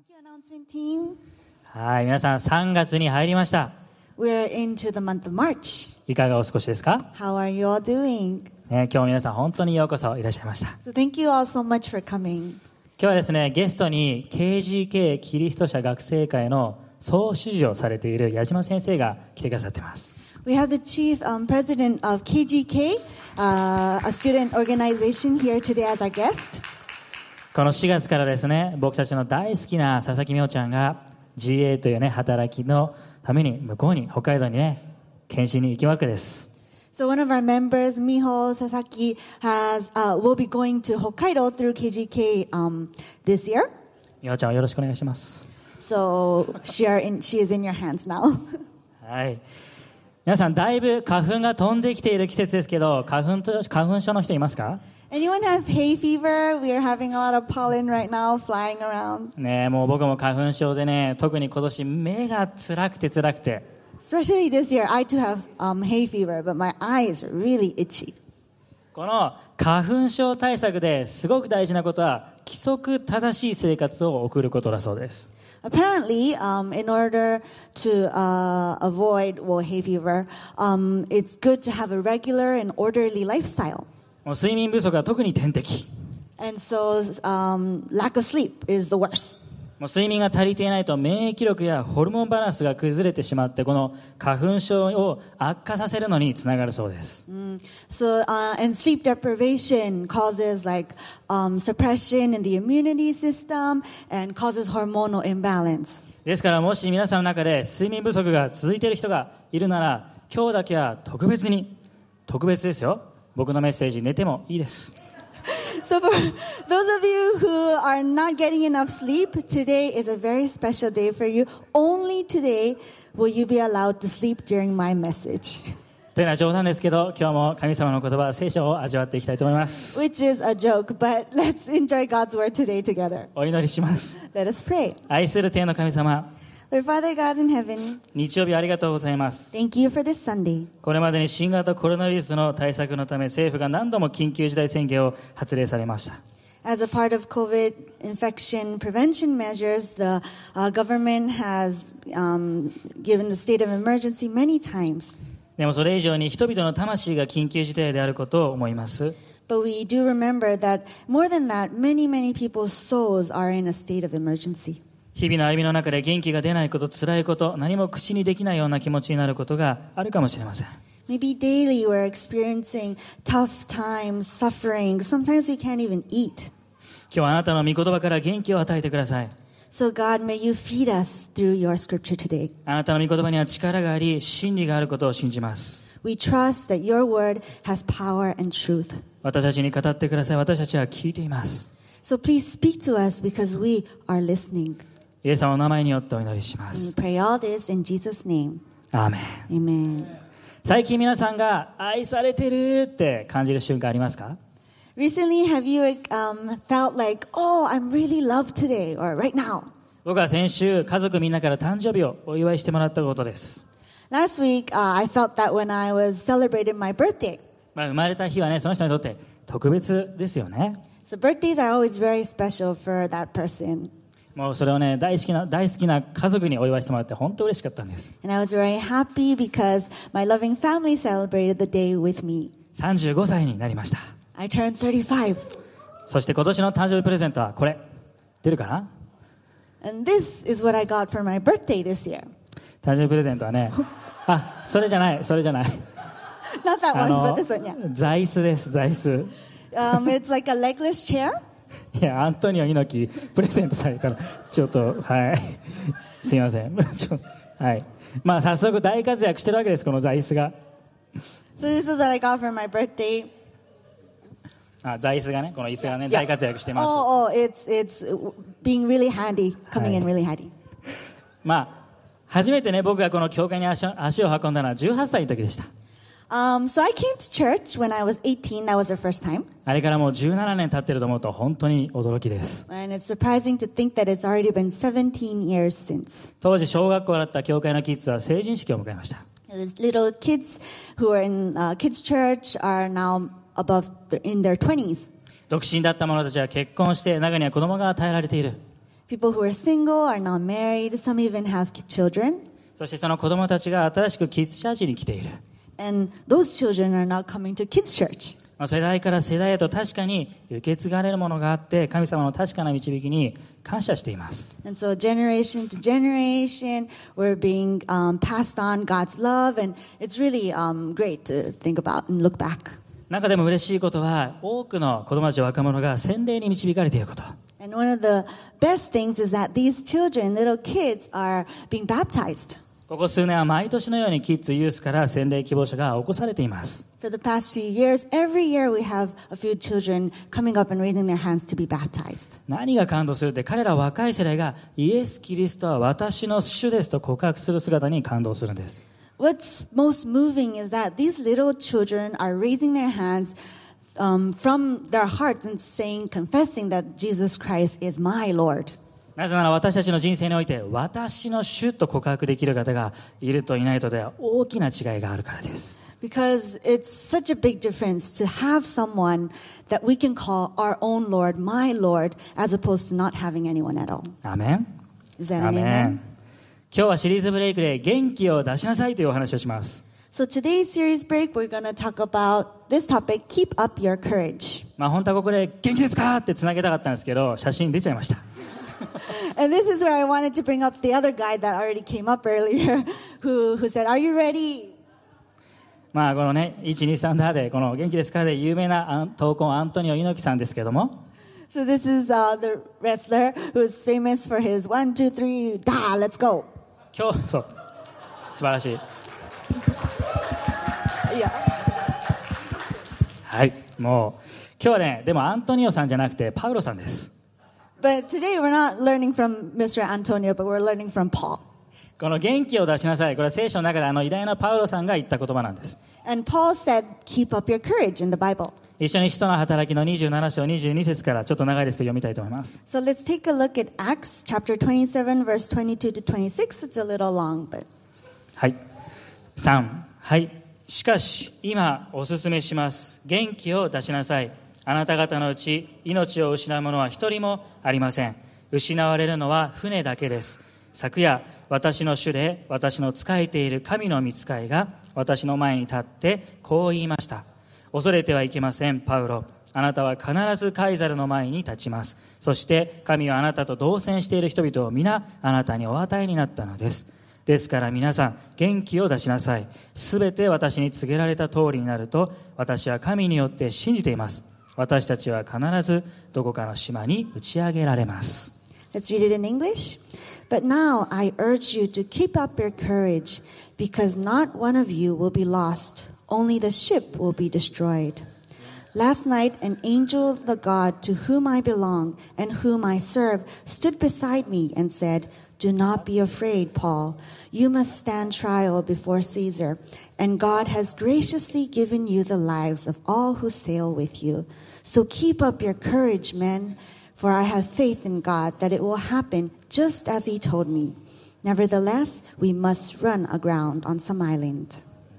Thank you, announcement team. はい、皆さん3月に入りました。 We're into the month of March. いかがお過ごしですか？ How are you all doing? 今日も皆さん本当にようこそいらっしゃいました。 So thank you all so much for coming. 今日はですね、ゲストに KGK キリスト者学生会の総主事をされている矢島先生が来てくださっています。 We have the chief president of KGK, a student organization, here today as our guest. この4月からですね、僕たちの大好きな佐々木美穂ちゃんが GA というね、働きのために向こうに北海道にね、検診に行くわけです。 So one of our members, Miho Sasaki, will be going to Hokkaido through KGK this year. 美穂ちゃんをよろしくお願いします。 So she is in your hands now. はい。皆さんだいぶ花粉が飛んできている季節ですけど、花粉症の人いますか ？Anyone have hay fever? We are having a lot of pollen right now flying around. ねえ、もう僕も花粉症でね、特に今年目が辛くて。 Especially this year, I too have hay fever, but my eyes are really itchy. この花粉症対策ですごく大事なことは、規則正しい生活を送ることだそうです。 Apparently, in order to avoid hay fever, it's good to have a regular and orderly lifestyle. もう睡眠不足は特に天敵。 And so, lack of sleep is the worst. もう睡眠が足りていないと免疫力やホルモンバランスが崩れてしまって、この花粉症を悪化させるのにつながるそうです。 So, and sleep deprivation causes suppression in the immunity system and causes hormonal imbalance. ですからもし皆さんの中で睡眠不足が続いている人がいるなら、今日だけは特別ですよ。僕のメッセージ寝てもいいです。 So for those of you who are not getting enough sleep, today is a very special day for you. Only today will you be allowed to sleep during my message. というのは冗談ですけど、今日も神様の言葉、聖書を味わっていきたいと思います。 Which is a joke, but let's enjoy God's word today together. お祈りします。 Let us pray. 愛する天の神様、 Lord Father God in heaven, 日曜日ありがとうございます。 thank you for this Sunday. これまでに新型コロナウイルスの対策のため、政府が何度も緊急事態宣言を発令されました。 As a part of COVID infection prevention measures, the government has given the state of emergency many times. でもそれ以上に人々の魂が緊急事態であることを思います。 But we do remember that more than that, many people's souls are in a state of emergency. 日々の歩みの中で元気が出ないこと、辛いこと、何も口にできないような気持ちになることがあるかもしれません。 Maybe daily we're experiencing tough times, suffering. Sometimes we can't even eat. 今日あなたの御言葉から元気を与えてください。 So God, may you feed us through your scripture today. あなたの御言葉には力があり、真理があることを信じます。 We trust that your word has power and truth. 私たちに語ってください。私たちは聞いています。 So please speak to us because we are listening. イエス様の名前によってお祈りしま And we す。 pray all this in Jesus' name. アーメン。 Amen. 最近皆さんが愛されてるって感じる瞬間ありますか？ Recently, have you felt like, oh, I'm really loved today or right now? 僕は先週、家族みんなから誕生日をお祝いしてもらったことです。 Last week, I felt that when I was celebrating my birthday. 生まれた日はね、その人にとって特別ですよね。 So birthdays are always very special for that person. もうそれをね、大好きな家族にお祝いしてもらって本当嬉しかったんです。 And I was very happy because my loving family celebrated the day with me. 35歳になりました。 I turned 35. そして今年の誕生日プレゼントはこれ。出るかな？ And this is what I got for my birthday this year. 誕生日プレゼントはね、それじゃない。 Not that one, but this one, yeah. 座椅子です、座椅子。 It's like a legless chair. いや、アントニオ猪木プレゼントされたらちょっとはいすいませんはい、まあ早速大活躍してるわけです、この座椅子が。 So this is what I got for my birthday. 座椅子がね、この椅子がね、大活躍してます。 It's being really handy, coming in really handy. まあ初めてね、僕がこの教会に足を運んだのは18歳の時でした。 So I came to church when I was 18. That was the first time. あれからもう17年経ってると思うと本当に驚きです。 And it's surprising to think that it's already been 17 years since. 当時小学校だった教会のキッズは成人式を迎えました。 These little kids who are in kids' church are now in their 20s. 独身だった者たちは結婚して、中には子供が与えられている。 People who are single, are not married, some even have children. そしてその子供たちが新しくキッズチャーチに来ている。 And those children are now coming to kids' church. 世代から世代へと確かに受け継がれるものがあって、神様の確かな導きに感謝しています。 And so generation to generation, we're being passed on God's love, and it's really great to think about and look back. 中でも嬉しいことは、多くの子供たち若者が洗礼に導かれていること。 And one of the best things is that these children, little kids, are being baptized. ここ数年は毎年のようにキッズユースから洗礼希望者が起こされています。 For the past few years, every year we have a few children coming up and raising their hands to be baptized. 何が感動するって、彼ら若い世代がイエス・キリストは私の主ですと告白する姿に感動するんです。 What's most moving is that these little children are raising their hands from their hearts and saying, confessing that Jesus Christ is my Lord. なぜなら私たちの人生において私の主と告白できる方がいるといないとでは大きな違いがあるからです。 Because it's such a big difference to have someone that we can call our own Lord, my Lord, as opposed to not having anyone at all. アーメン。 Is that ア an ーメ amen? ン。今日はシリーズブレイクで元気を出しなさいというお話をします。 So today's series break, we're going to talk about this topic, keep up your courage. 本当はここで元気ですかってつなげたかったんですけど、写真出ちゃいました。 And this is where I wanted to bring up the other guy that already came up earlier, who said, are you ready? このね、123ダーでこの元気ですかで有名な闘魂アントニオ猪木さんですけども、 So this is the wrestler who's famous for his 1, 2, 3, da, let's go. 今日そう素晴らしい。 Yeah. はい、もう今日はね、でもアントニオさんじゃなくてパウロさんです。 But today we're not learning from Mr. Antonio, but we're learning from Paul. この元気を出しなさい、これは聖書の中で偉大なパウロさんが言った言葉なんです。 And Paul said, keep up your courage in the Bible. 一緒に使徒の働きの27章22節からちょっと長いですけど読みたいと思います。 So let's take a look at Acts chapter 27, verse 22 to 26. It's a little long, but... はい。3、はい。しかし、今お勧めします。元気を出しなさい。あなた方のうち命を失う者は一人もありません。失われるのは船だけです。昨夜、私の主で私の仕えている神の御使いが私の前に立ってこう言いました。恐れてはいけません、パウロ。あなたは必ずカイザルの前に立ちます。そして神はあなたと同船している人々を皆あなたにお与えになったのです。ですから皆さん、元気を出しなさい。すべて私に告げられた通りになると私は神によって信じています。私たちは必ずどこかの島に打ち上げられます。 Let's read it in English. But now I urge you to keep up your courage, because not one of you will be lost, only the ship will be destroyed. Last night an angel of the God to whom I belong and whom I serve stood beside me and said, Do not be afraid, Paul. You must stand trial before Caesar, and God has graciously given you the lives of all who sail with you. So keep up your courage, men, for I have faith in God that it will happen just as he told me. Nevertheless, we must run aground on some island.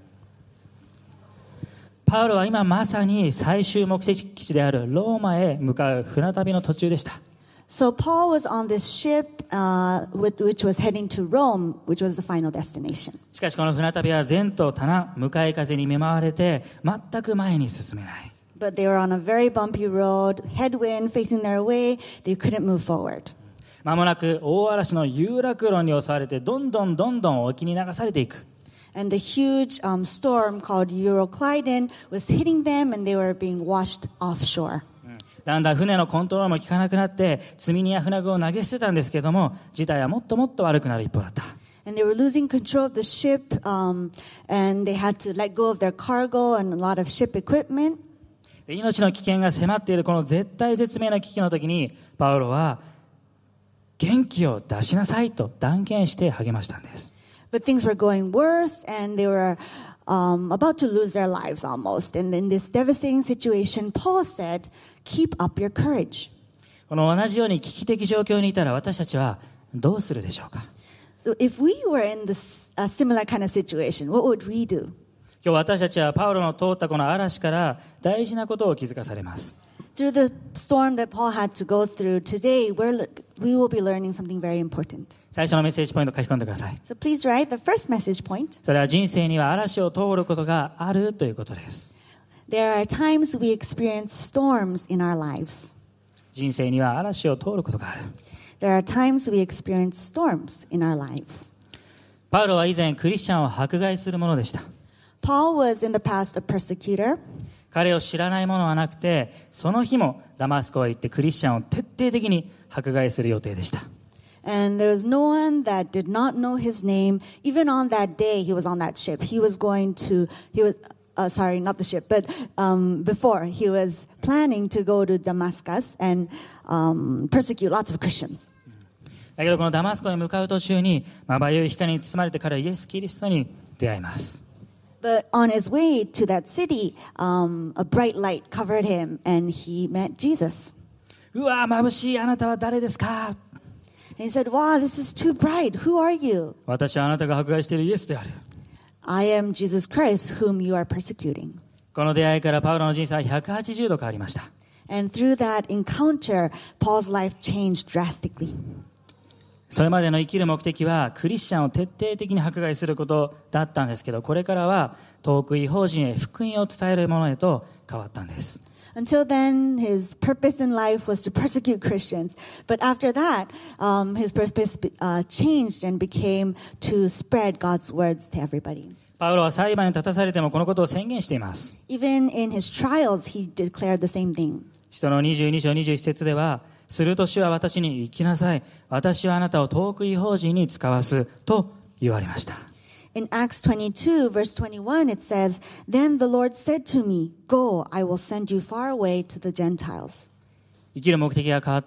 パウロは今まさに最終目的地であるローマへ向かう船旅の途中でした。 So Paul was on this ship which was heading to Rome, which was the final destination. しかしこの船旅は前途多難、向かい風に見舞われて全く前に進めない。 But they were on a very bumpy road, headwind facing their way. They couldn't move forward. まもなく大嵐の有楽論に襲われてどんどん沖に流されていく。 And the huge storm called Euroclydon was hitting them, and they were being washed offshore. だんだん船のコントロールも効かなくなって積み荷や船具を投げ捨てたんですけども、事態はもっと悪くなる一方だった。 And they were losing control of the ship, and they had to let go of their cargo and a lot of ship equipment. 命の危険が迫っているこの絶対絶命の危機の時に、パウロは元気を出しなさいと断言して励ましたんです。 But things were going worse, and they were about to lose their lives almost. And in this devastating situation, Paul said, keep up your courage. この同じように危機的状況にいたら私たちはどうするでしょうか。 So if we were in this similar kind of situation, what would we do? 今日私たちはパウロの通ったこの嵐から大事なことを気づかされます。 Through the storm that Paul had to go through, today we will be learning something very important. 最初のメッセージポイントを書き込んでください。 So please write the first message point. それは人生には嵐を通ることがあるということです。 There are times we experience storms in our lives. 人生には嵐を通ることがある。 There are times we experience storms in our lives. パウロは以前クリスチャンを迫害するものでした。 Paul was in the past a persecutor. 彼を知らない者はなくて、その日もダマスコへ行ってクリスチャンを徹底的に迫害する予定でした。 And there was no one that did not know his name. Even on that day he was on that ship. Not the ship, but before he was planning to go to Damascus and persecute lots of Christians. だけどこのダマスコに向かう途中に、まばゆい光に包まれて彼はイエス・キリストに出会います。 But on his way to that city, a bright light covered him and he met Jesus. うわー、眩しい、あなたは誰ですか？ And he said, wow, this is too bright. Who are you? 私はあなたが迫害しているイエスである。 I am Jesus Christ, whom you are persecuting. この出会いからパウロの人生は180度変わりました。 And through that encounter, Paul's life changed drastically. それまでの生きる目的はクリスチャンを徹底的に迫害することだったんですけど、これからは遠く異邦人へ福音を伝えるものへと変わったんです。 Until then, his purpose in life was to persecute Christians. But after that, his purpose changed and became to spread God's words to everybody. パウロは裁判に立たされてもこのことを宣言しています。 Even in his trials, he declared the same thing. 使徒の22章21節では、すると主は私に行きなさい。私はあなたを遠く異邦人に使わすと言われました。 In Acts 22, verse 21, it says, Then the Lord said to me, Go, I will send you far away to the Gentiles. 生きる目的が変わって、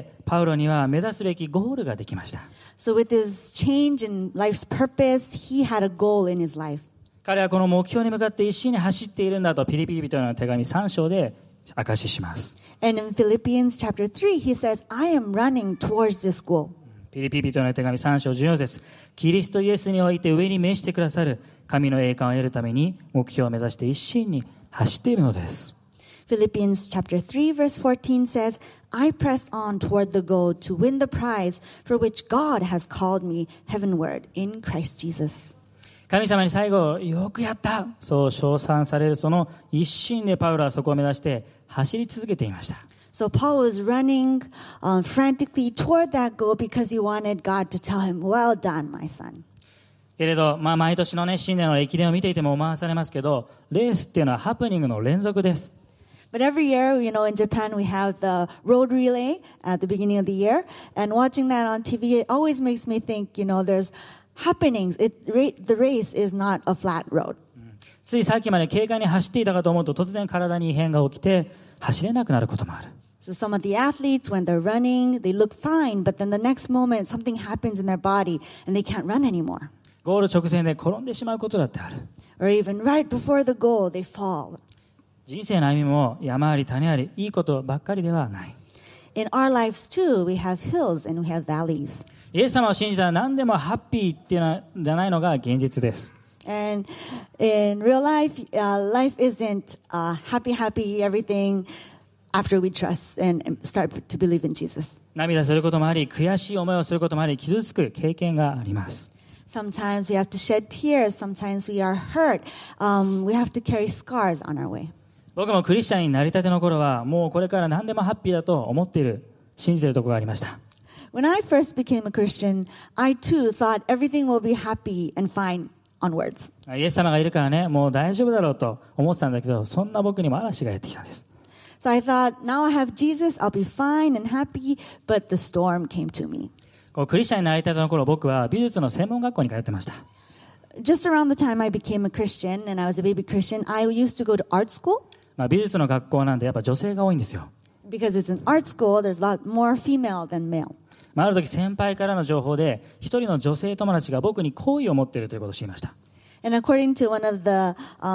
パウロには目指すべきゴールができました。 So with his change in life's purpose, he had a goal in his life. 彼はこの目標に向かって一心に走っているんだとピリピリ人への手紙3章で証しします。 And in Philippians chapter 3, he says, I am running towards this goal. ピリピリ人への手紙3章14節、キリストイエスにおいて上に召してくださる神の栄冠を得るために目標を目指して一心に走っているのです。 Philippians chapter 3, verse 14 says, I press on toward the goal to win the prize for which God has called me heavenward in Christ Jesus. 神様に最後、よくやったそう称賛されるその一心でパウロはそこを目指して走り続けていました。 So Paul was running frantically toward that goal because he wanted God to tell him, well done, my son. けれど、毎年のね、新年の駅伝を見ていても思わされますけど、レースっていうのはハプニングの連続です。 But every year, in Japan, we have the road relay at the beginning of the year. And watching that on TV, it always makes me think, there's happenings. The race is not a flat road. ついさっきまで軽快に走っていたかと思うと突然体に異変が起きて走れなくなることもある。 So some of the athletes, when they're running, they look fine, but then the next moment, something happens in their body and they can't run anymore. ゴール直前で転んでしまうことだってある。 Or even right before the goal, they fall. 人生の歩みも山あり谷あり、いいことばっかりではない。 In our lives too, we have hills and we have valleys. イエス様を信じたら何でもハッピーっていうのじゃないのが現実です。 And in real life, life isn't happy, everything after we trust and start to believe in Jesus. 涙することもあり、悔しい思いをすることもあり、傷つく経験があります。 Sometimes we have to shed tears. Sometimes we are hurt. We have to carry scars on our way. 僕もクリスチャンになりたての頃は、もうこれから何でもハッピーだと思っている、信じているところがありました。 When I first became a Christian, I too thought everything will be happy and fine onwards. イエス様がいるからね、もう大丈夫だろうと思ってたんだけど、そんな僕にも嵐がやってきたんです。 So I thought, now I have Jesus, I'll be fine and happy, but the storm came to me. クリスチャンになりたての頃、僕は美術の専門学校に通ってました。 Just around the time I became a Christian and I was a baby Christian, I used to go to art school. 美術の学校なんでやっぱ女性が多いんですよ。 Because it's an art school, there's a lot more female than male. ある時先輩からの情報で一人の女性友達が僕に好意を持っているということを知りました。 And according to one of the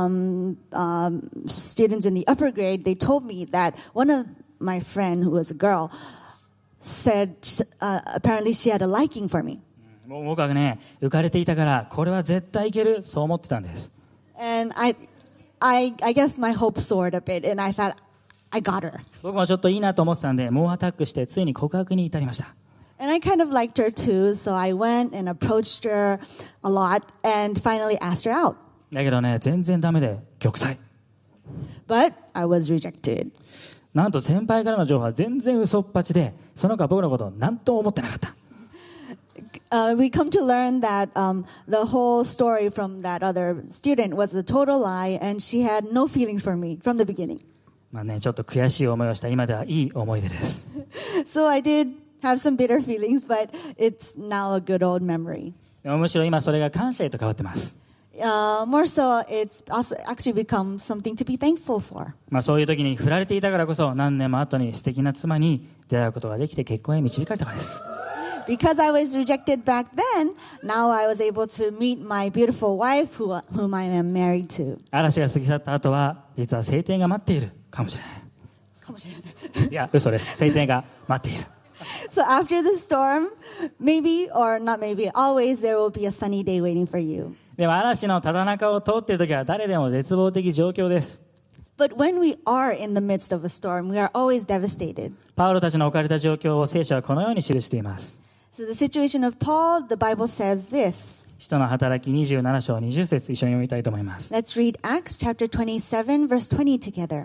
students in the upper grade, they told me that one of my friend who was a girl said apparently she had a liking for me. もう僕はね、浮かれていたからこれは絶対いける、そう思ってたんです。 And I guess my hope soared a bit and I thought I got her. 僕もちょっといいなと思ってたんで、猛アタックしてついに告白に至りました。 And I kind of liked her too, so I went and approached her a lot and finally asked her out. だけどね、全然ダメで玉砕。 But I was rejected. なんと先輩からの情報は全然嘘っぱちで、その子は僕のことを何とも思ってなかった。 We come to learn that the whole story from that other student was a total lie, and she had no feelings for me from the beginning. まあね、ちょっと悔しい思いをした今ではいい思い出です。 So I did have some bitter feelings, but it's now a good old memory. でもむしろ今それが感謝へと変わってます。 More so, it's also actually become something to be thankful for. まあそういう時に振られていたからこそ何年も後に素敵な妻に出会うことができて結婚へ導かれたからです。 Because I was rejected back then, now I was able to meet my beautiful wife whom I am married to. 嵐が過ぎ去った後は実は晴天が待っているかもしれない。 かもしれない。 いや、嘘です。晴天が待っている。 So after the storm, maybe or not maybe, always there will be a sunny day waiting for you. でも嵐のただ中を通っている時は誰でも絶望的状況です。 But when we are in the midst of a storm, we are always devastated. パウロたちの置かれた状況を聖書はこのように記しています。 So the situation of Paul, the Bible says this. 使徒の働き27章20節一緒に読みたいと思います。 Let's read Acts chapter 27 verse 20 together.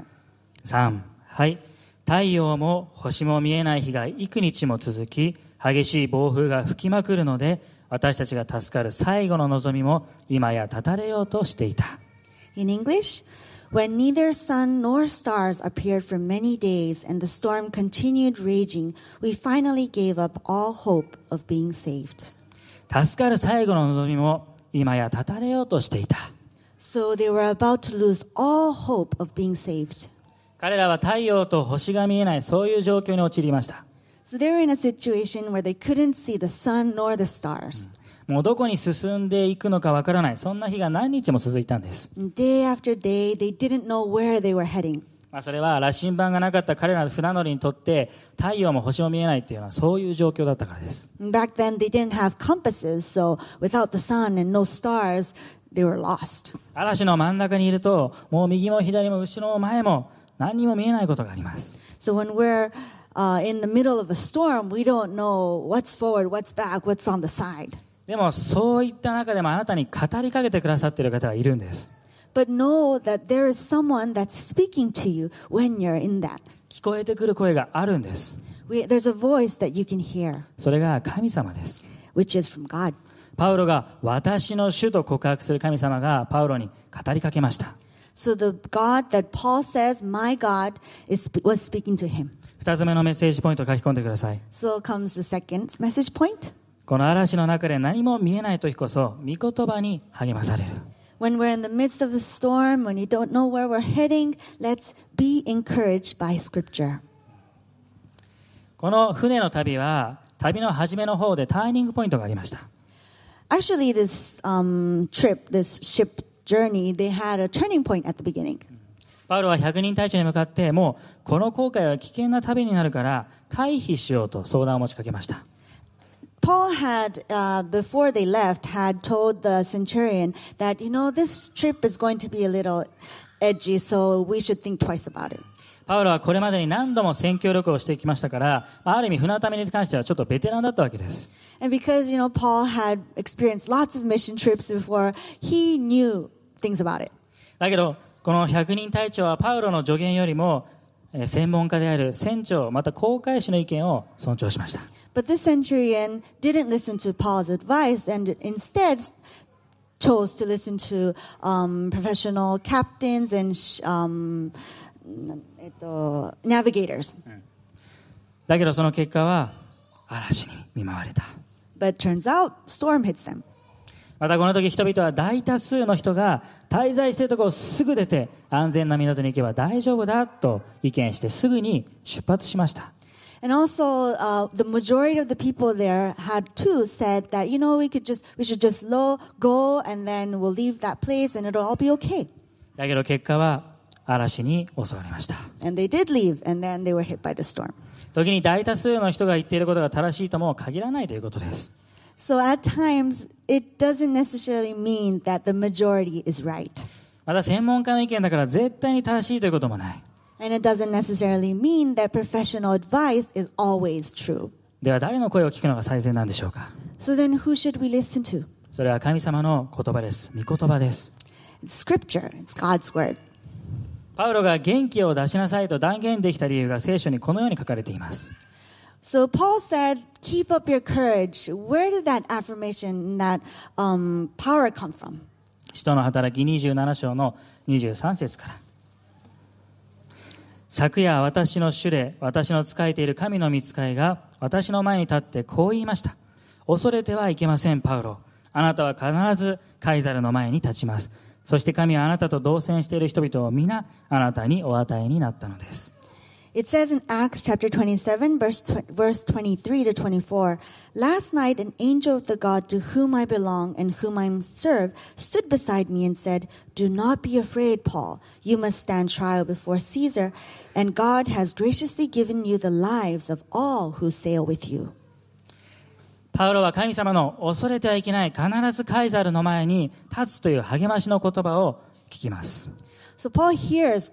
3、はい。太陽も星も見えない日が幾日も続き、激しい暴風が吹きまくるので、私たちが助かる最後の望みも今や絶たれようとしていた。 In English, when neither sun nor stars appeared for many days and the storm continued raging, we finally gave up all hope of being saved. 助かる最後の望みも今や絶たれようとしていた。 So they were about to lose all hope of being saved. 彼らは太陽と星が見えないそういう状況に陥りました。 So they were in a situation where they couldn't see the sun nor the stars. もうどこに進んでいくのかわからない、そんな日が何日も続いたんです。 Day after day, they didn't know where they were heading. それは羅針盤がなかった彼らの船乗りにとって太陽も星も見えないというのはそういう状況だったからです。 Back then, they didn't have compasses, so without the sun and no stars, they were lost. 嵐の真ん中にいると、もう右も左も後ろも前も何にも見えないことがあります。 So when we're in the middle of a storm, we don't know what's forward, what's back, what's on the side. でもそういった中でもあなたに語りかけてくださっている方がいるんです。 But know that there is someone that's speaking to you when you're in that. 聞こえてくる声があるんです。 There's a voice that you can hear, それが神様です。 which is from God. パウロが私の主と告白する神様がパウロに語りかけました。 So the God that Paul says, my God, was speaking to him. 2つ目のメッセージポイントを書き込んでください。 So comes the second message point. この嵐の中で何も見えない時こそ御言葉に励まされる。 When we're in the midst of a storm, when you don't know where we're heading, let's be encouraged by Scripture. この船の旅は旅の初めの方でターニングポイントがありました。 Actually, this trip, this ship journey, they had a turning point at the beginning. パウロは100人隊長に向かってもうこの航海は危険な旅になるから回避しようと相談を持ちかけました。 Paul had, before they left, had told the centurion that, this trip is going to be a little edgy, so we should think twice about it. パウロはこれまでに何度も宣教旅行をしてきましたから、ある意味船旅に関してはちょっとベテランだったわけです。 And because, Paul had experienced lots of mission trips before, he knew things about it. だけど、この100人隊長はパウロの助言よりも、専門家である船長、また航海士の意見を尊重しました。 But this centurion didn't listen to Paul's advice and instead chose to listen to professional captains and navigators. だけどその結果は嵐に見舞われた。 But turns out, storm hits them. またこの時人々は大多数の人が滞在しているところをすぐ出て安全な港に行けば大丈夫だと意見してすぐに出発しました。 And also, the majority of the people there had too said that, we should just go and then we'll leave that place and it'll all be okay. だけど結果は嵐に襲われました。 And they did leave and then they were hit by the storm. 時に大多数の人が言っていることが正しいとも限らないということです。 So at times, it doesn't necessarily mean that the majority is right. また専門家の意見だから絶対に正しいということもない。 And it doesn't necessarily mean that professional advice is always true. では誰の声を聞くのが最善なんでしょうか。 So then who should we listen to? それは神様の言葉です。御言葉です。 It's scripture. It's God's word. パウロが元気を出しなさいと断言できた理由が聖書にこのように書かれています。 So Paul said, keep up your courage. Where did that affirmation, that power come from? 使徒の働き27章の23節から。昨夜私の主で私の仕えている神の御使いが私の前に立ってこう言いました。恐れてはいけません、パウロ。あなたは必ずカイザルの前に立ちます。そして神はあなたと同棲している人々を皆あなたにお与えになったのです。 It says in Acts chapter 27, verse 23 to 24, Last night an angel of the God to whom I belong and whom I serve stood beside me and said, Do not be afraid, Paul. You must stand trial before Caesar, and God has graciously given you the lives of all who sail with you. パウロは神様の恐れてはいけない、必ずカイザルの前に立つという励ましの言葉を聞きます。 So Paul hears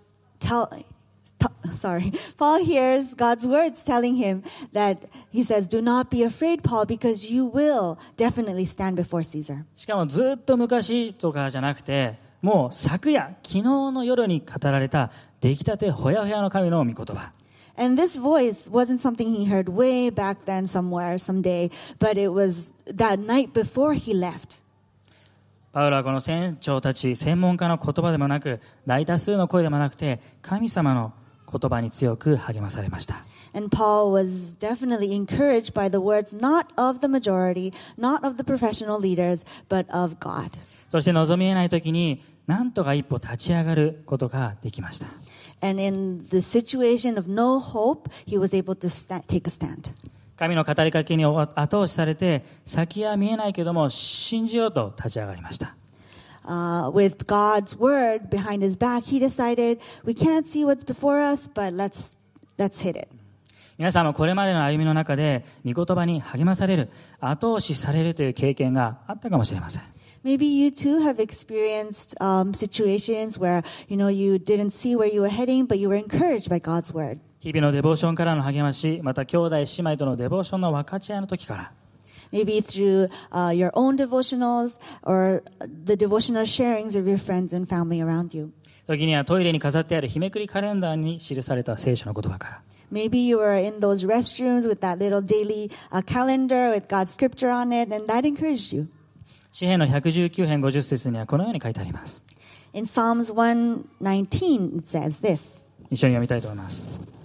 God's words telling him that he says, Do not be afraid, Paul, because you will definitely stand before Caesar. しかもずっと昔とかじゃなくて、もう昨夜、昨日の夜に語られた出来たてほやほやの神の御言葉。 And this voice wasn't something he heard way back then somewhere, someday, but it was that night before he left. パウロはこの船長たち、専門家の言葉でもなく、大多数の声でもなくて、神様の言葉に強く励まされました。 And Paul was definitely encouraged by the words not of the majority, not of the professional leaders, but of God. そして望み得ない時に、なんとか一歩立ち上がることができました。 And in the situation of no hope, he was able to take a stand. 神の語りかけに後押しされて、先は見えないけども信じようと立ち上がりました。 With God's word behind his back, he decided, we can't see what's before us, but let's hit it. 皆さんもこれまでの歩みの中で、御言葉に励まされる、後押しされるという経験があったかもしれません。 Maybe you too have experienced situations where, you didn't see where you were heading, but you were encouraged by God's word. 日々のデボーションからの励まし、また兄弟姉妹とのデボーションの分かち合いの時から、 Maybe through your own devotionals or the devotional sharings of your friends and family around you. 時にはトイレに飾ってある日めくりカレンダーに記された聖書の言葉から、 Maybe you were in those restrooms with that little daily calendar with God's scripture on it, and that encouraged you. 詩編の119編50節にはこのように書いてあります。 In Psalms 119, it says this. 一緒に読みたいと思います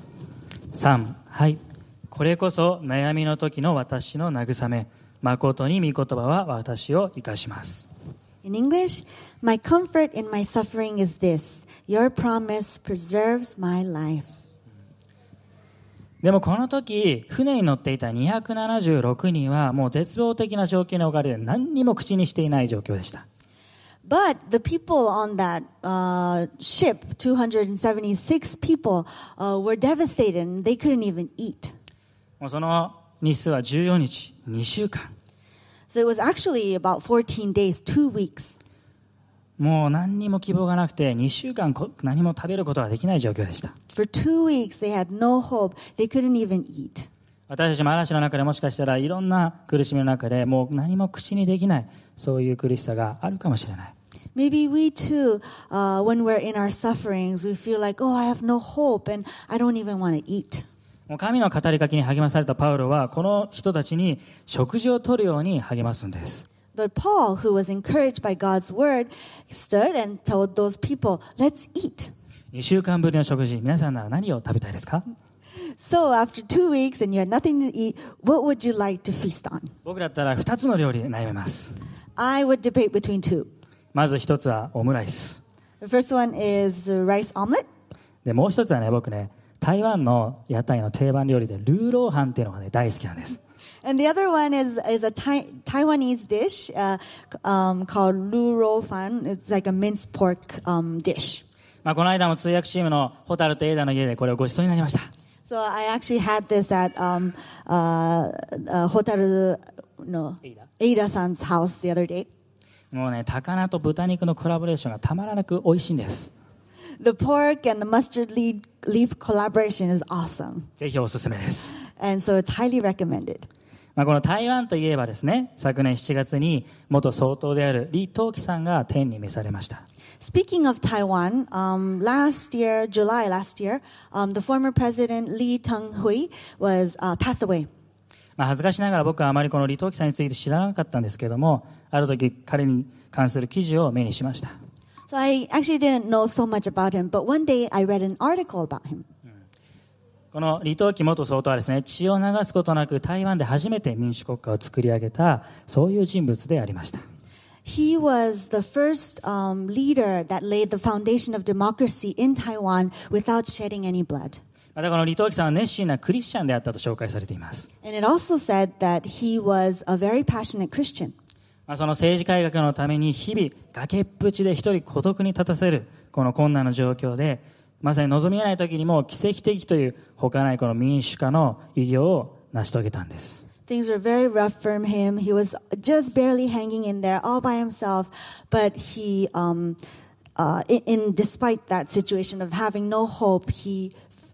。3、はい。これこそ悩みの時の私の慰め。誠に御言葉は私を生かします。 In English, my comfort in my suffering is this. Your promise preserves my life. でもこの時、船に乗っていた276人はもう絶望的な状況に置かれて何にも口にしていない状況でした。 But the people on that ship, 276 people, were devastated and they couldn't even eat. もうその日数は14日、2週間。 So it was actually about 14 days, 2 weeks. もう何にも希望がなくて2週間何も食べることができない状況でした。 For 2 weeks they had no hope. They couldn't even eat. 私たちも嵐の中でもしかしたらいろんな苦しみの中でもう何も口にできない、そういう苦しさがあるかもしれない。 Maybe we too, when we're in our sufferings, we feel like, oh, I have no hope and I don't even want to eat. もう神の語りかけに励まされたパウロはこの人たちに食事を取るように励ますんです。 But Paul, who was encouraged by God's word, stood and told those people, let's eat. 2週間ぶりの食事、皆さんなら何を食べたいですか？ So after 2 weeks and you had nothing to eat, what would you like to feast on? 僕だったら2つの料理で悩めます。 I would debate between two. まず1つはオムライス。 The first one is rice omelet. で、もう1つはね、僕ね、台湾の屋台の定番料理でルーローハンっていうのがね、大好きなんです。 And the other one is a Taiwanese dish called Lu Rou Fan. It's like a minced pork dish. まあこの間も通訳チームのホタルとエイダの家でこれをご馳走になりました。 So I actually had this at Hotaru no Eida-san's house the other day. もうね、高菜と豚肉のコラボレーションがたまらなく美味しいんです。 The pork and the mustard leaf collaboration is awesome. ぜひおすすめです。 And so it's highly recommended. この台湾といえばですね、昨年7月に元総統である李登輝さんが天に召されました。 Speaking of Taiwan, July last year, the former president Lee Teng-hui was passed away. 恥ずかしながら僕はあまりこの李登輝さんについて知らなかったんですけれども、ある時彼に関する記事を目にしました。 So I actually didn't know so much about him, but one day I read an article about him. この李登輝元総統はですね、血を流すことなく台湾で初めて民主国家を作り上げた、そういう人物でありました。 He was the first leader that laid the foundation of democracy in Taiwan without shedding any blood. またこの李登輝さんは熱心なクリスチャンであったと紹介されています。 And it also said that he was a very passionate Christian. その政治改革のために日々崖っぷちで一人孤独に立たせるこの困難な状況で、まさに望みえない時にも奇跡的という他ないこの民主化の偉業を成し遂げたんです。 Things were very rough for him. He was just barely hanging in there all by himself. But he, despite that situation of having no hope, he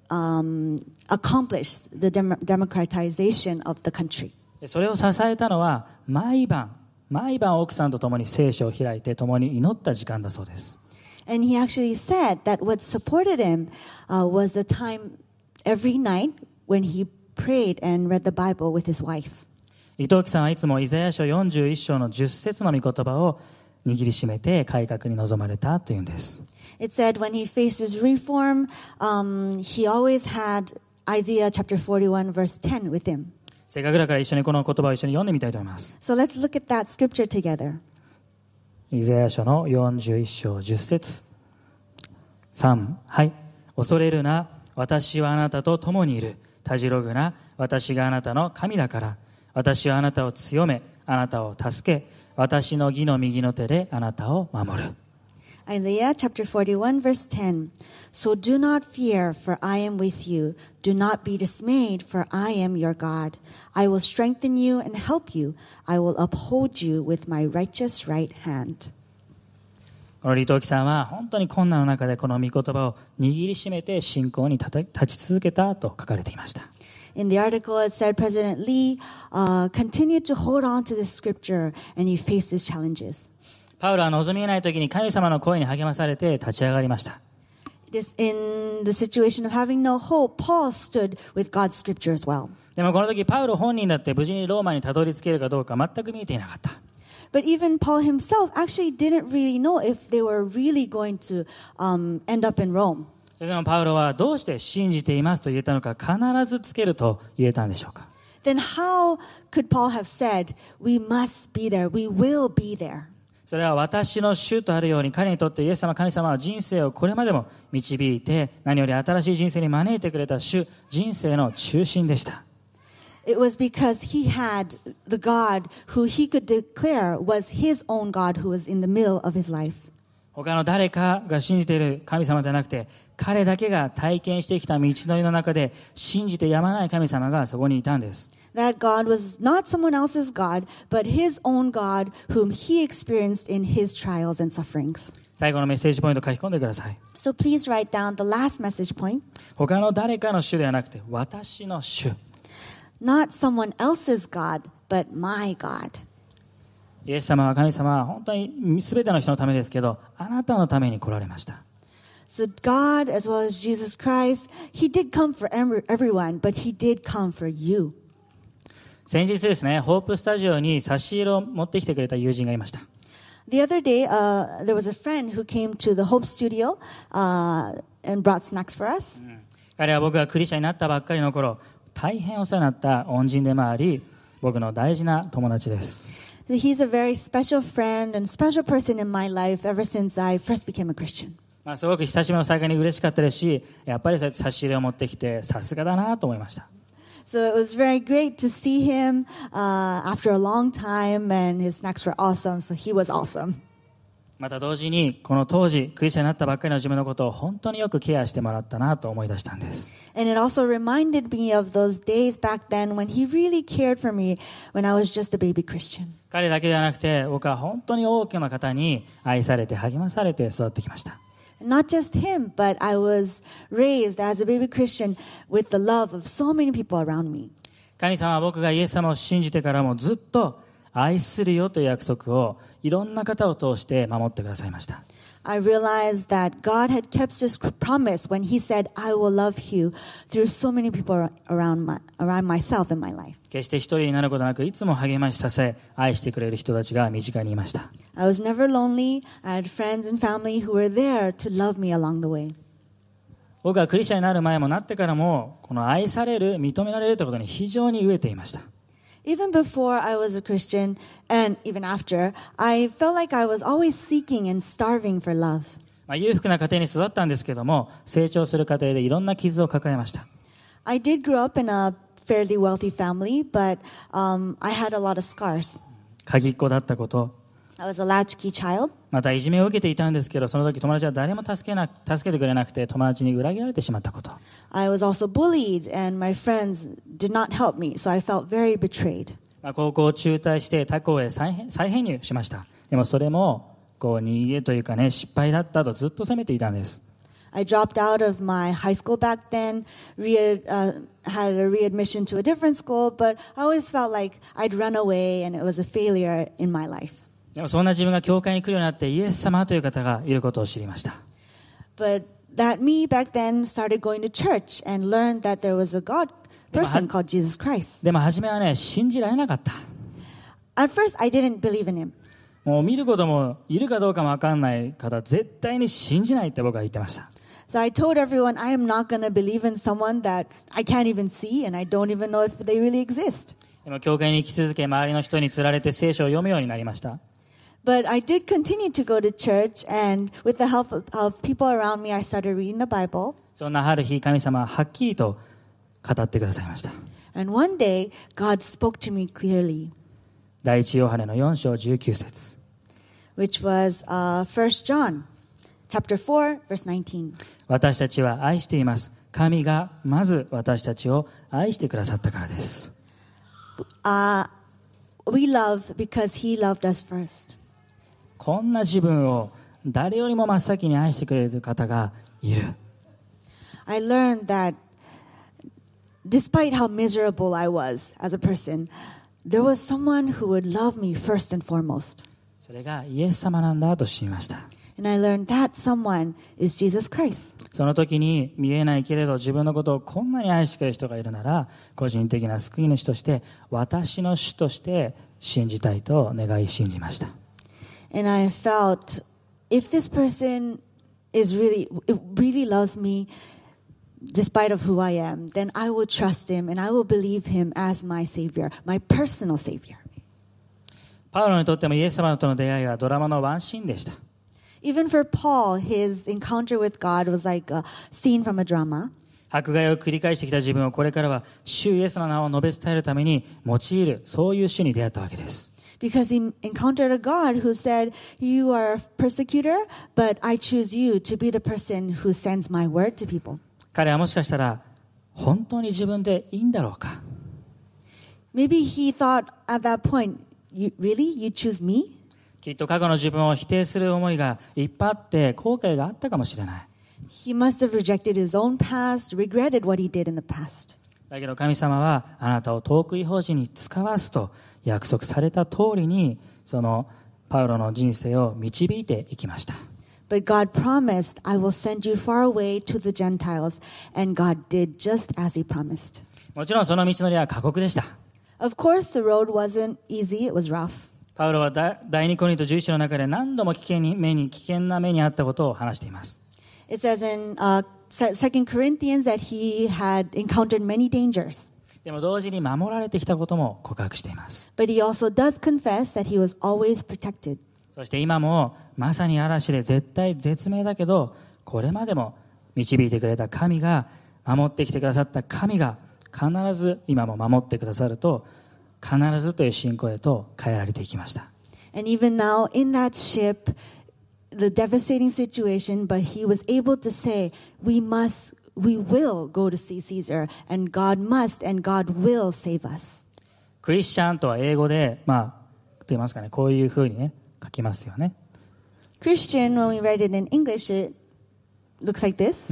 accomplished the democratization of the country. それを支えたのは毎晩奥さんと共に聖書を開いて共に祈った時間だそうです。 And he actually said that what supported him was the time every night when he prayed and read the Bible with his wife. 李登輝さんはいつもイザヤ書41章の10節の御言葉を握りしめて改革に臨まれたというんです。 It said when he faced his reform, he always had Isaiah chapter 41 verse 10 with him. せっかくだから一緒にこの言葉を一緒に読んでみたいと思います。 So let's look at that scripture together. イザヤ書の41章10節3、はい。恐れるな、私はあなたと共にいる。たじろぐな、私があなたの神だから。私はあなたを強め、あなたを助け、私の義の右の手であなたを守る。 Isaiah chapter 41 verse 10. So do not fear, for I am with you. Do not be dismayed, for I am your God. I will strengthen you and help you. I will uphold you with my righteous right hand. この李登輝さんは本当に困難の中でこの御言葉を握りしめて信仰に立ち続けたと書かれていました。 In the article, it said President Lee continued to hold on to this scripture and he faced his challenges. パウロは望みえない時に神様の声に励まされて立ち上がりました。 In the situation of having no hope, Paul stood with God's scripture as well. でもこの時パウロ本人だって無事にローマにたどり着けるかどうか全く見えていなかった。 But even Paul himself actually didn't really know if they were really going to end up in Rome. それでもパウロはどうして信じていますと言えたのか、必ずつけると言えたんでしょうか。 Then how could Paul have said, we must be there, we will be there? それは私の主とあるように、彼にとってイエス様神様は人生をこれまでも導いて、何より新しい人生に招いてくれた主、人生の中心でした。 It was because he had the God who he could declare was his own God who was in the middle of his life. 他の誰かが信じている神様ではなくて、彼だけが体験してきた道のりの中で信じてやまない神様がそこにいたんです。 That God was not someone else's God, but his own God whom he experienced in his trials and sufferings. 最後のメッセージポイント書き込んでください。 So please write down the last message point. 他の誰かの主ではなくて、私の主。 Not someone else's God, but my God. イエス様は神様は本当に全ての人のためですけど、あなたのために来られました。 So God, as well as Jesus Christ, he did come for everyone, but he did come for you. 先日ですね、ホープスタジオに差し入れを持ってきてくれた友人がいました。 The other day, there was a friend who came to the Hope Studio and brought snacks for us. 彼は僕がクリスチャンになったばっかりの頃、大変お世話になった恩人でもあり、僕の大事な友達です。 He's a very special friend and special person in my life ever since I first became a Christian. すごく親しみの再会に嬉しかったですし、やっぱりそうやって差し入れを持ってきてさすがだなと思いました。 So it was very great to see him after a long time, and his snacks were awesome, so he was awesome. また同時にこの当時クリスチャンになったばっかりの自分のことを本当によくケアしてもらったなと思い出したんです。 And it also reminded me of those days back then when he really cared for me when I was just a baby Christian. 彼だけではなくて僕は本当に多くの方に愛されて励まされて育ってきました。 Not just him, but I was raised as a baby Christian with the love of so many people around me. 神様は僕がイエス様を信じてからもずっと愛するよという約束をいろんな方を通して守ってくださいました。 I realized that God had kept his promise when he said, I will love you through so many people around myself in my life. 決して一人になることなくいつも励まし支え愛してくれる人たちが身近にいました。 I was never lonely. I had friends and family who were there to love me along the way. 僕はクリスチャンになる前もなってからもこの愛される、認められるということに非常に飢えていました。 Even before I was a Christian and even after, I felt like I was always seeking and starving for love. 裕福な家庭に育ったんですけども、成長する過程でいろんな傷を抱えました。 I did grow up in a fairly wealthy family, but I had a lot of scars. 鍵っ子だったこと、 I was a latchkey child. またいじめを受けていたんですけど、その時友達は誰も助けてくれなくて友達に裏切られてしまったこと。 I was also bullied and my friends did not help me, so I felt very betrayed. 高校を中退して他校へ再編入しました。でもそれも逃げというかね、失敗だったとずっと責めていたんです。 I dropped out of my high school back then, had a readmission to a different school, but I always felt like I'd run away and it was a failure in my life. でもそんな自分が教会に来るようになってイエス様という方がいることを知りました。 But that me back then started going to church and learned that there was a God person called Jesus Christ. でも初めはね、信じられなかった。 At first, I didn't believe in him. もう見ることもいるかどうかも分かんない方、絶対に信じないって僕は言ってました。 So I told everyone, I am not going to believe in someone that I can't even see and I don't even know if they really exist. でも教会に行き続け、周りの人につられて聖書を読むようになりました。 But I did continue to go to church, and with the help of people around me, I started reading the Bible. そんなある日、神様ははっきりと語ってくださいました。 And one day, God spoke to me clearly. 第一ヨハネの4章19節 which was 1 John chapter 4, verse 19. 私たちは愛しています。神がまず私たちを愛してくださったからです。 We love because He loved us first. こんな自分を誰よりも真っ先に愛してくれる方がいる。 I learned that despite how miserable I was as a person, there was someone who would love me first and foremost. それがイエス様なんだと知りました。 And I learned that someone is Jesus Christ. その時に見えないけれど自分のことをこんなに愛してくれる人がいるなら、個人的な救い主として私の主として信じたいと願い信じました。 And I felt if this person really loves me despite of who I am, then I will trust him and I will believe him as my savior, my personal savior. パウロにとってもイエス様との出会いはドラマのワンシーンでした。 Even for Paul, his encounter with God was like a scene from a drama. 迫害を繰り返してきた自分をこれからは主イエスの名を述べ伝えるために用いる、そういう主に出会ったわけです。 Because he encountered a God who said, you are a persecutor, but I choose you to be the person who sends my word to people. 彼はもしかしたら本当に自分でいいんだろうか。 Maybe he thought at that point, really? You choose me? きっと過去の自分を否定する思いがいっぱいあって後悔があったかもしれない。 He must have rejected his own past, regretted what he did in the past. だけど神様はあなたを遠く異邦人に使わすと約束された通りにそのパウロの人生を導いていきました。 But God promised, I will send you far away to the Gentiles, and God did just as he promised. もちろんその道のりは過酷でした。 Of course, the road wasn't easy, it was rough. パウロは第2コリント11章の中で何度も危険な目にあったことを話しています。 It says in 2 Corinthians that he had encountered many dangers. でも同時に守られてきたことも告白しています。 But he also does confess that he was always protected. そして今もまさに嵐で絶対絶命だけど、これまでも導いてくれた神が、守ってきてくださった神が必ず今も守ってくださると、必ずという信仰へと変えられていきました。 And even now in that ship, the devastating situation, but he was able to say, we will go to see Caesar, and God must, and God will save us. クリスチャンとは英語で、と言いますかね、こういうふうにね、書きますよね。 Christian, when we write it in English, looks like this.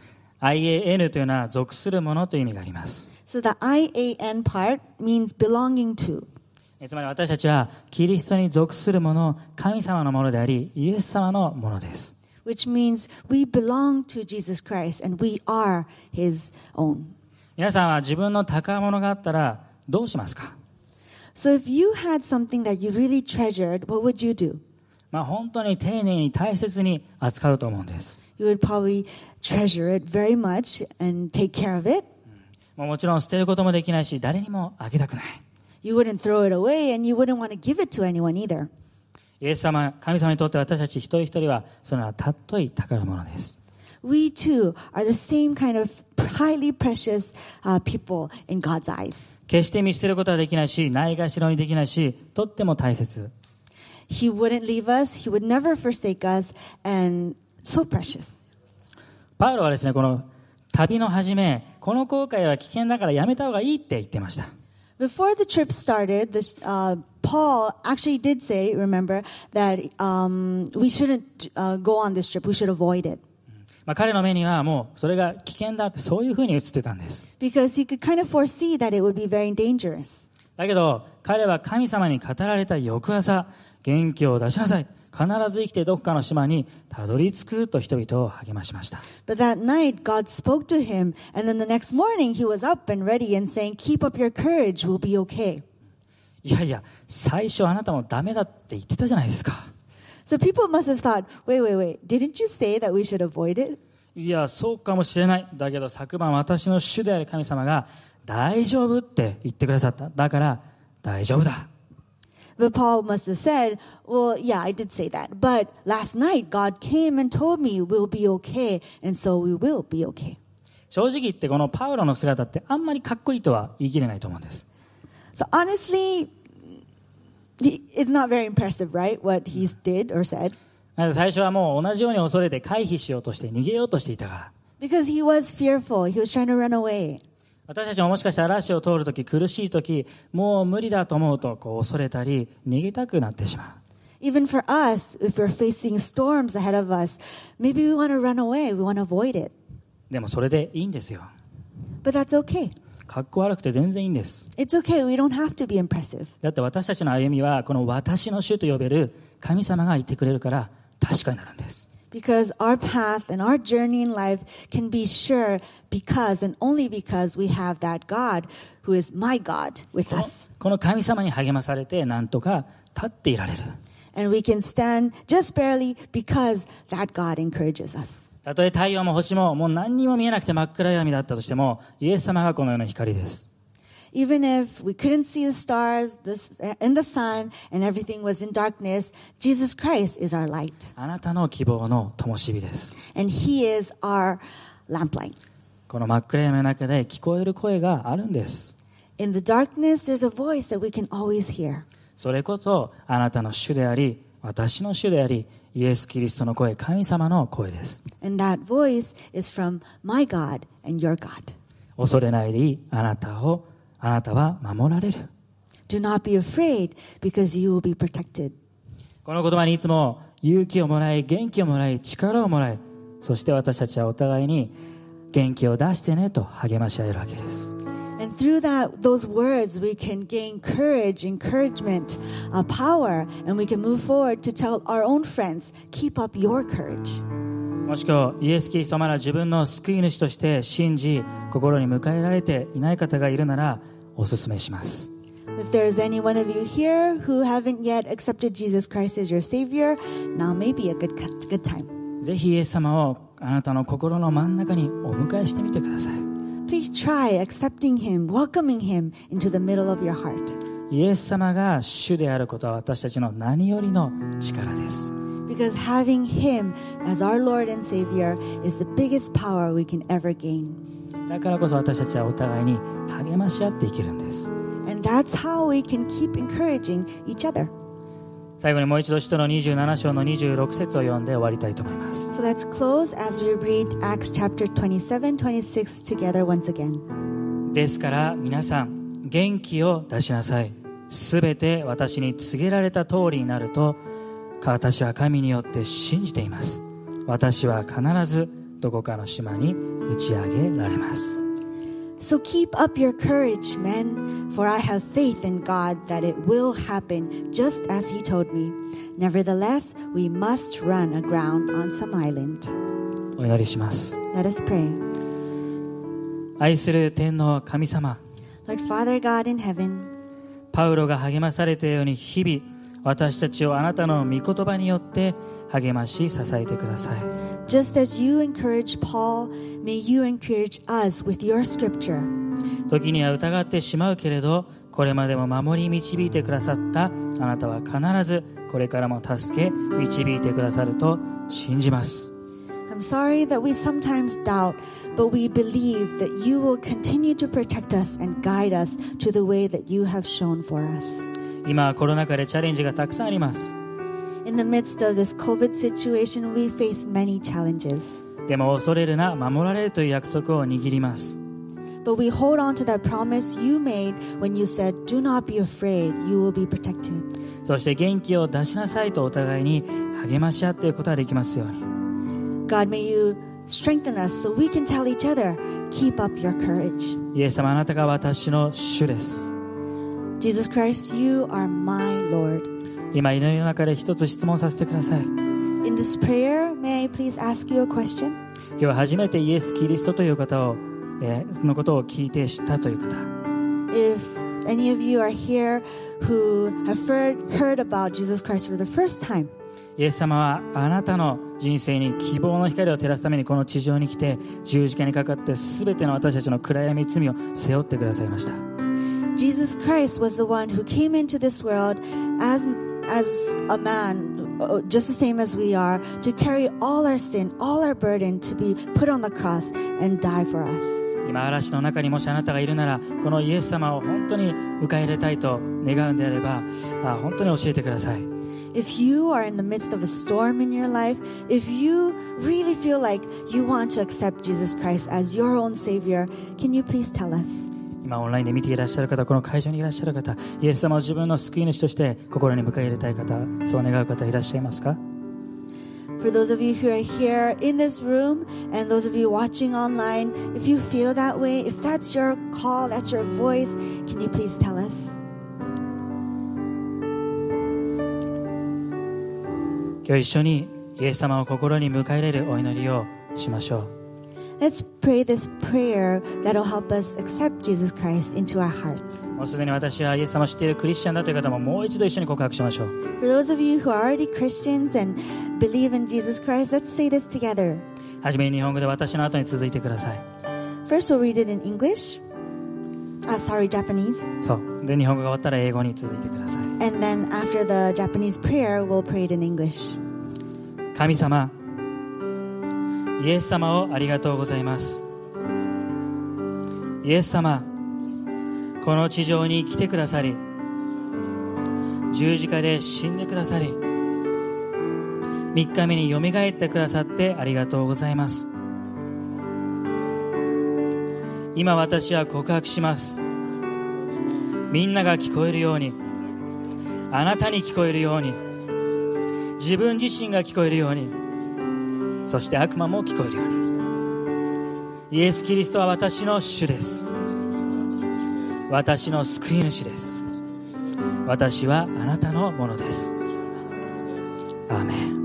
IAN というのは属するものという意味があります。 So the IAN part means belonging to. つまり私たちはキリストに属するもの、神様のものであり、イエス様のものです。 Which means we belong to Jesus Christ and we are His own. 皆さんは自分の宝物があったらどうしますか？ So if you had something that you really treasured, what would you do? 本当に丁寧に大切に扱うと思うんです。 You would probably treasure it very much and take care of it. もちろん捨てることもできないし、誰にもあげたくない。 You wouldn't throw it away and you wouldn't want to give it to anyone either. イエス様、神様にとって私たち一人一人はその尊い宝物です。 We too are the same kind of highly precious people in God's eyes. 決して見捨てることはできないし、ないがしろにできないし、とっても大切。 He wouldn't leave us, He would never forsake us, and so precious. パウロはですね、この旅の初め、この航海は危険だからやめた方がいいって言ってました。 Before the trip started, Paul actually did say, remember, that we shouldn't go on this trip. We should avoid it. 彼の目にはもうそれが危険だってそういうふうに映ってたんです。 Because he could kind of foresee that it would be very dangerous. だけど彼は神様に語られた翌朝、元気を出しなさい。必ず生きてどこかの島にたどり着くと人々を励ましました。 But that night, God spoke to him, and then the next morning he was up and ready and saying, "Keep up your courage, we'll be okay." いやいや、最初あなたもダメだって言ってたじゃないですか。 So people must have thought, wait, didn't you say that we should avoid it? いや、そうかもしれない。だけど昨晩私の主である神様が大丈夫って言ってくださった。だから大丈夫だ。 But Paul must have said, well, yeah, I did say that. But last night, God came and told me we'll be okay, and so we will be okay. 正直言ってこのパウロの姿ってあんまりかっこいいとは言い切れないと思うんです。 So honestly, it's not very impressive, right, what he did or said. 最初はもう同じように恐れて回避しようとして逃げようとしていたから。 Because he was fearful. He was trying to run away. 私たちももしかしたら嵐を通るとき、苦しいとき、もう無理だと思うと恐れたり逃げたくなってしまう。 Even for us, if we're facing storms ahead of us, maybe we want to run away. We want to avoid it. でもそれでいいんですよ。 But that's okay. かっこ悪くて全然いいんです。 It's okay. We don't have to be impressive. だって私たちの歩みはこの私の主と呼べる神様がいてくれるから確かになるんです。 Because our path and our journey in life can be sure because and only because we have that God who is my God with us. この神様に励まされてなんとか立っていられる。 And we can stand just barely because that God encourages us. たとえ太陽も星ももう何にも見えなくて真っ暗闇だったとしても、イエス様がこの世の光です。 Even if we couldn't see the stars and the sun and everything was in darkness, Jesus Christ is our light. あなたの希望の灯火です。 And He is our lamplight. この真っ暗闇の中で聞こえる声があるんです。 In the darkness, there's a voice that we can always hear. それこそあなたの主であり、私の主であり、イエス・キリストの声、神様の声です。 And that voice is from my God and your God. 恐れないでいい、あなたは守られる。 Do not be afraid because you will be protected. この言葉にいつも勇気をもらい、元気をもらい、力をもらい、そして私たちはお互いに元気を出してねと励まし合えるわけです。 And through those words, we can gain courage, encouragement, power, and we can move forward to tell our own friends, keep up your courage. もしくはイエス・キリストをまだ自分の救い主として信じ、心に迎えられていない方がいるならお勧めします。 If there is any one of you here who haven't yet accepted Jesus Christ as your Savior, now may be a good time. ぜひイエス様をあなたの心の真ん中にお迎えしてみてください。 Please try accepting Him, welcoming Him into the middle of your heart. イエス様が主であることは私たちの何よりの力です。 Because having Him as our Lord and Savior is the biggest power we can ever gain. だからこそ私たちはお互いに励まし合って生きるんです。 And that's how we can keep encouraging each other. 最後にもう一度使徒の27章の26節を読んで終わりたいと思います。 So let's close as we read Acts chapter 27, 26 together once again. ですから皆さん元気を出しなさい。すべて私に告げられた通りになると私は神によって信じています。私は必ずどこかの島に打ち上げられます。 So keep up your courage, men, for I have faith in God that it will happen just as He told me. Nevertheless, we must run aground on some island. お祈りします。 Let us pray. 愛する天の神様、 Lord Father God in heaven, パウロが励まされたように日々私たちをあなたの御言葉によって励まし支えてください。 just as you encourage Paul, may you encourage us with your scripture. 時には疑ってしまうけれど、これまでも守り導いてくださったあなたは必ずこれからも助け導いてくださると信じます。 I'm sorry that we sometimes doubt, but we believe that you will continue to protect us and guide us to the way that you have shown for us. 今はコロナ禍でチャレンジがたくさんあります。 In the midst of this COVID situation, we face many challenges. でも恐れるな、守られるという約束を握ります。 But we hold on to that promise you made when you said, do not be afraid, you will be protected. そして元気を出しなさいとお互いに励まし合っていくことができますように。 God, may you strengthen us so we can tell each other, keep up your courage. イエス様、あなたが私の主です。 Jesus Christ, you are my Lord. 今祈りの中で一つ質問させてください。 In this prayer, may I please ask you a question? 今日初めてイエス・キリストという方を、そのことを聞いて知ったという方、 If any of you are here who have heard about Jesus Christ for the first time, イエス様はあなたの人生に希望の光を照らすためにこの地上に来て十字架にかかって全ての私たちの暗闇罪を背負ってくださいました。 Jesus Christ was the one who came into this world as a man, just the same as we are, to carry all our sin, all our burden, to be put on the cross and die for us. 今嵐の中にもしあなたがいるなら、このイエス様を本当に迎え入れたいと願うんであれば、本当に教えてください。 If you are in the midst of a storm in your life, if you really feel like you want to accept Jesus Christ as your own Savior, can you please tell us? 今オンラインで見ていらっしゃる方、この会場にいらっしゃる方、イエス様を自分の救い主として心に迎え入れたい方、そう願う方いらっしゃいますか？ For those of you who are here in this room and those of you watching online, if you feel that way, if that's your call, that's your voice, can you please tell us? 今日一緒にイエス様を心に迎え入れるお祈りをしましょう。 Let's pray this prayer that'll help us accept Jesus Christ into our hearts. もうすでに私はイエス様を知っているクリスチャンだという方ももう一度一緒に告白しましょう。 For those of you who are already Christians and believe in Jesus Christ, let's say this together. はじめに日本語で私の後に続いてください。 First, we'll read it in English. Japanese. そうで、日本語が終わったら英語に続いてください。 And then after the Japanese prayer, we'll pray it in English. 神様、イエス様をありがとうございます。イエス様、この地上に来てくださり、十字架で死んでくださり、3日目によみがえってくださってありがとうございます。今私は告白します。みんなが聞こえるように、あなたに聞こえるように、自分自身が聞こえるように、そして悪魔も聞こえるように、イエス・キリストは私の主です。私の救い主です。私はあなたのものです。アーメン。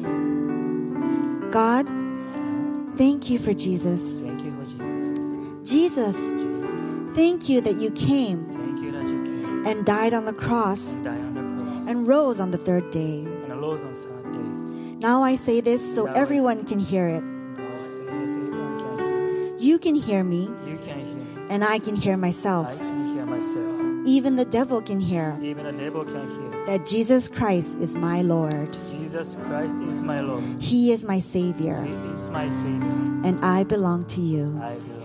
God, thank you for Jesus. Thank you for Jesus, thank you that you came Thank you that you came and died on the cross and died on the cross and rose on the third day. and arose on Sunday. Now I say this so everyone can hear it. Now say this, everyone can hear. You can hear me, You can hear. and I can hear I myself. can hear myself. Even the devil can hear Even the devil can hear. that Jesus Christ is my Lord. Jesus Christ is my Lord. He is my Savior, He is my Savior. and I belong to you. I belong.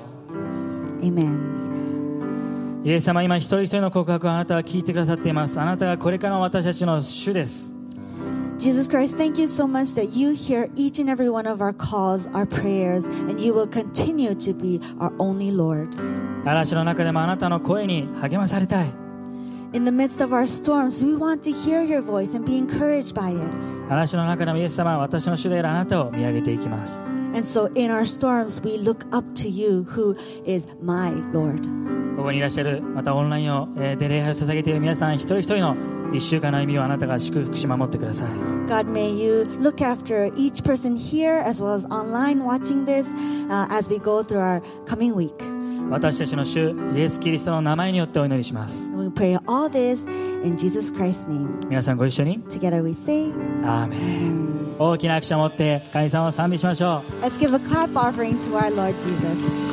Amen. イエス様、今一人一人の告白をあなたは聞いてくださっています。あなたがこれからの私たちの主です。 Jesus Christ, thank you so much that you hear each and every one of our calls, our prayers, and you will continue to be our only Lord. 嵐の中でもあなたの声に励まされたい。 In the midst of our storms, we want to hear your voice and be encouraged by it. 嵐の中でもイエス様は私の主であるあなたを見上げていきます。 And so in our storms, we look up to you, who is my Lord. ここにいらっしゃる、またオンラインで礼拝を捧げている皆さん一人一人の一週間の歩みをあなたが祝福し守ってください。 God, may you look after each person here as well as online watching this as we go through our coming week. 私たちの主イエス・キリストの名前によってお祈りします。 We pray all this in Jesus Christ's name. 皆さんご一緒に Together we say, アーメン。大きな拍手を持って神様を賛美しましょう。 let's give a clap offering to our Lord Jesus.